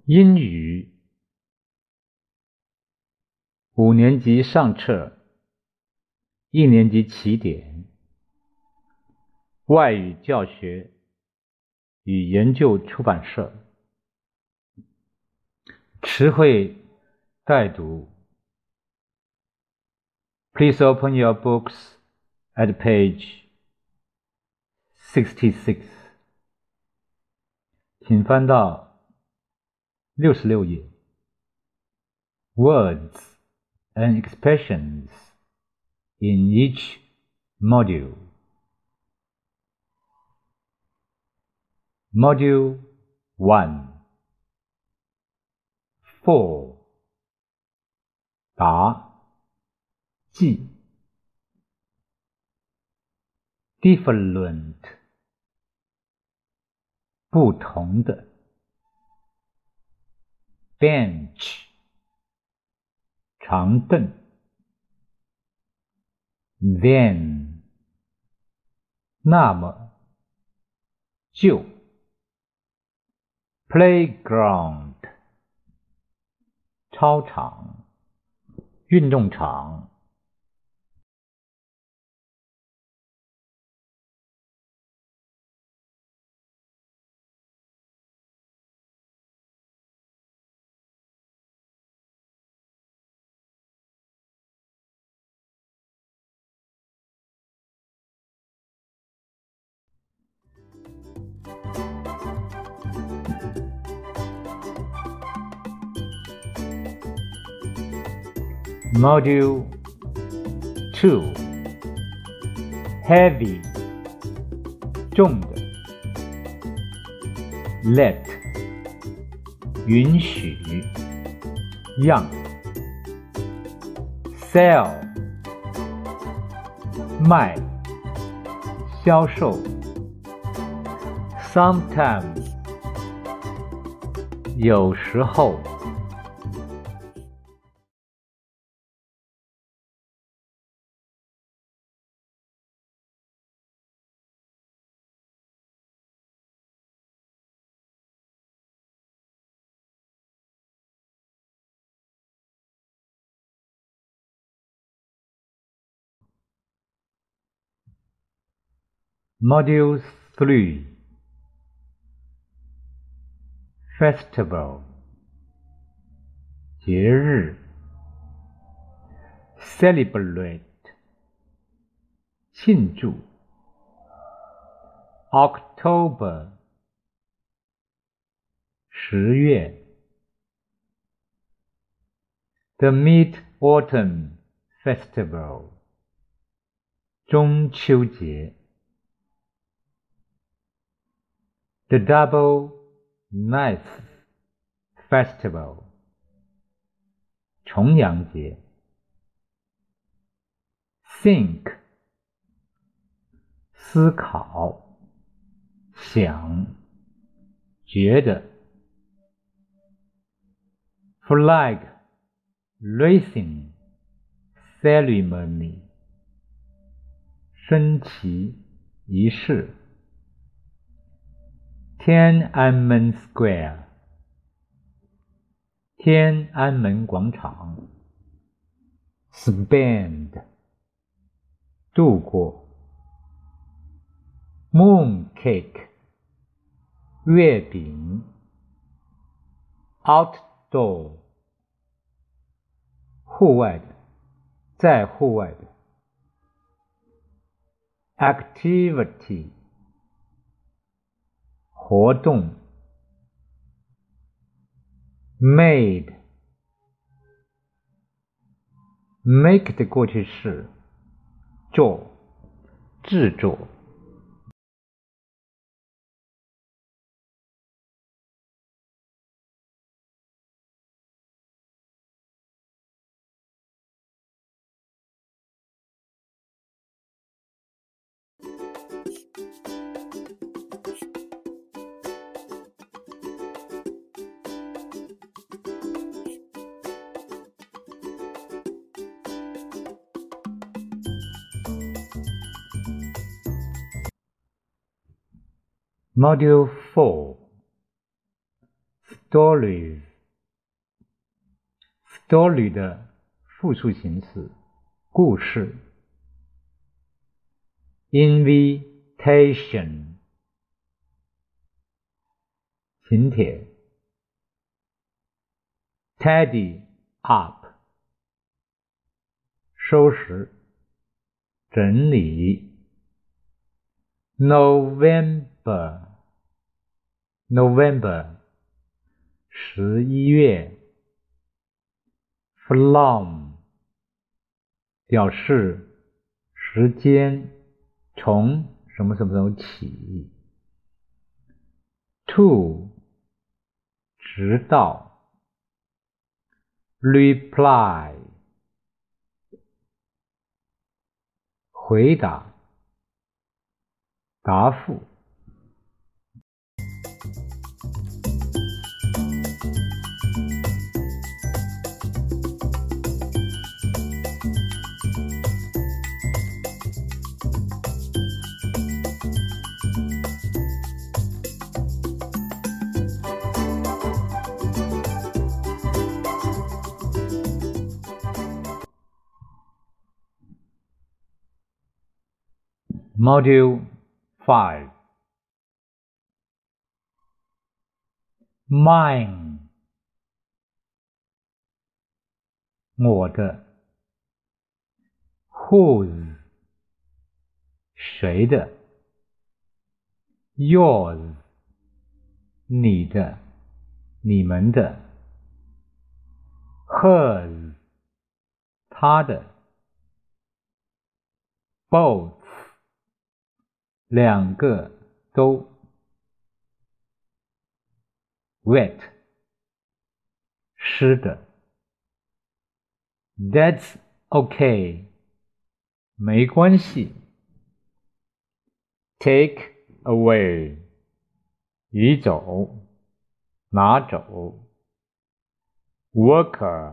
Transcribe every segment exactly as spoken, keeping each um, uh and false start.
英语五年级上册，一年级起点，外语教学与研究出版社。词汇带读。Please open your books at page sixty-six. 请翻到六十六页。Words and expressions in each module. Module one. For. 答记 Different. 不同的 Bench. 长凳 Then. 那么就 Playground. 操场运动场。Module two. Heavy. 重的 Let. 允许 让 Sell. 卖销售 Sometimes. 有时候Module three. Festival. 节日 Celebrate. 庆祝 October. 十月 The Mid-Autumn Festival. 中秋节The Double Knife Festival. 重阳节 Think. 思考想觉得 Flag Raising Ceremony. 升旗仪式天安门 Square. 天安门广场 Spend. 度过 Mooncake. 月饼 Outdoor. 户外的在户外的 Activity. 活动 Made. Make 的过去式做制作。Module four. stories story 的复数形式，故事。invitation 请帖。tidy up 收拾整理。November November 十一月。From 表示时间，从什么什么时候起。To 直到。Reply 回答答复。Module five Mine 我的。Whose 谁的。Yours 你的你们的。Hers 他的。Both 两个都。Wet 湿的。That's okay 没关系。Take away 移走拿走。Worker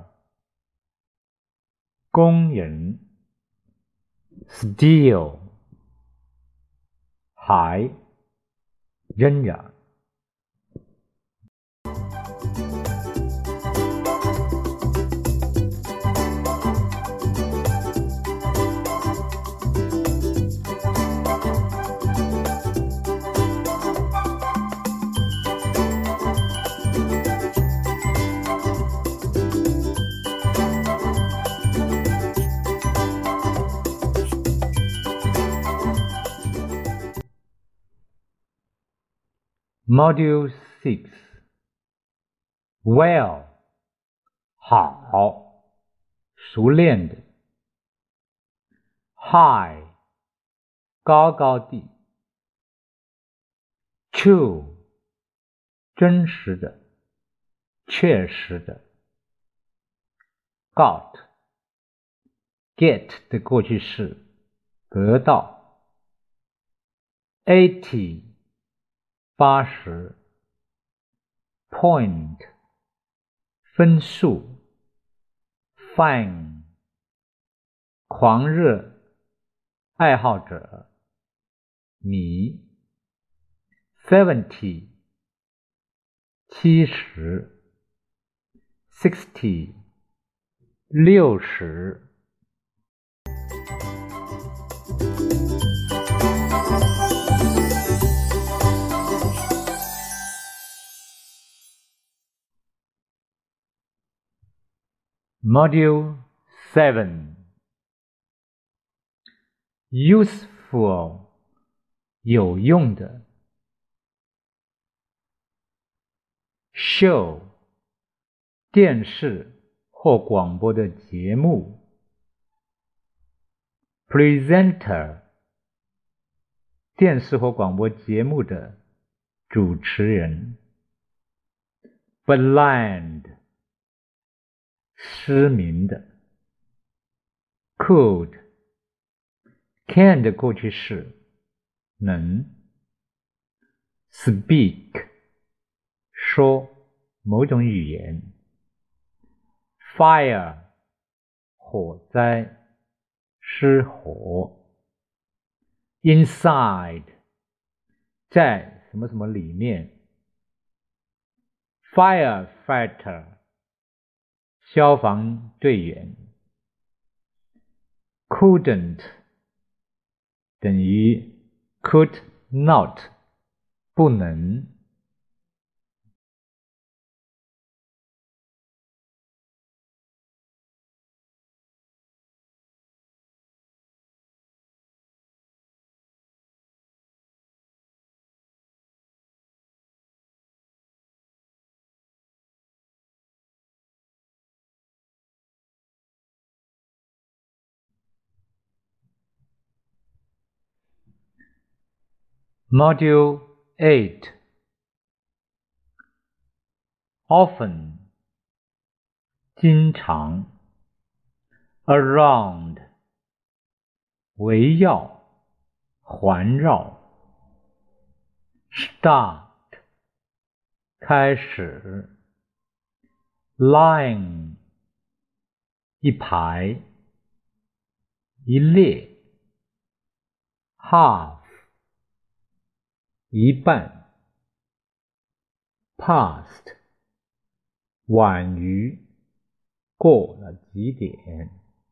工人。Still 还仍然。Module six Well 好熟练的。High 高高的。True 真实的确实的。Got Get 的过去式得到。Eighty八十。Point 分数。Fan 狂热爱好者迷。Seventy 七十。Sixty 六十。Module seven Useful 有用的。Show 电视或广播的节目。Presenter 电视或广播节目的主持人。Blind 失明的。Could can 的过去式能。Speak 说某种语言。Fire 火灾失火。Inside 在什么什么里面。 firefighter 消防队员 couldn't 等于 could not 不能。Module eight Often 经常 Around 围绕环绕 Start 开始 Line 一排一列 Half 一半 Past 晚于过了几点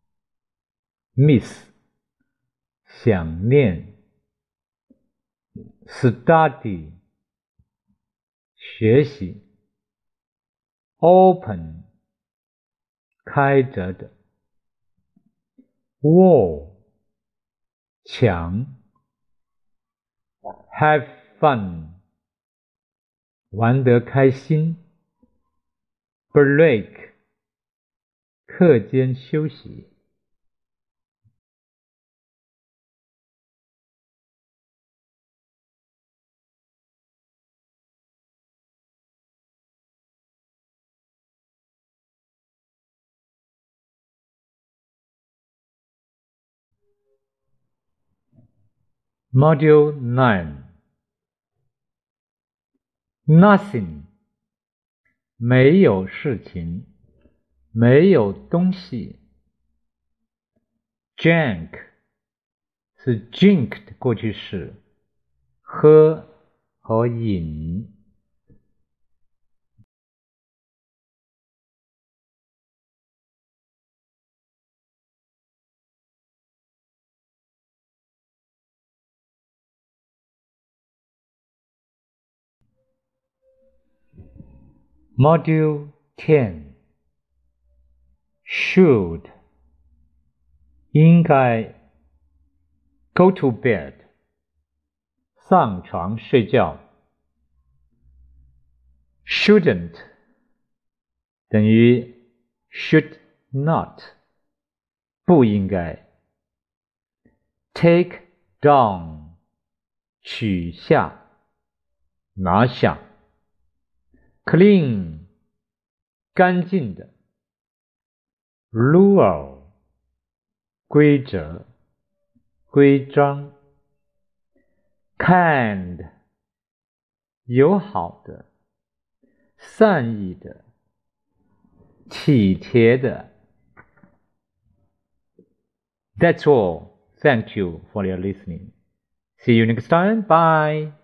Miss 想念 Study 学习 Open 开着的 Wall 墙 Have fun 玩得开心 Break 课间休息。Module nine Nothing 没有事情，没有东西。Drink 是 drink 的过去式，喝和饮。Module ten Should 应该 Go to bed 上床睡觉 Shouldn't 等于 should not 不应该 Take down 取下拿下 Clean 干净的 Rule 规则规章 Kind 友好的善意的体贴的 That's all. Thank you for your listening. See you next time. Bye.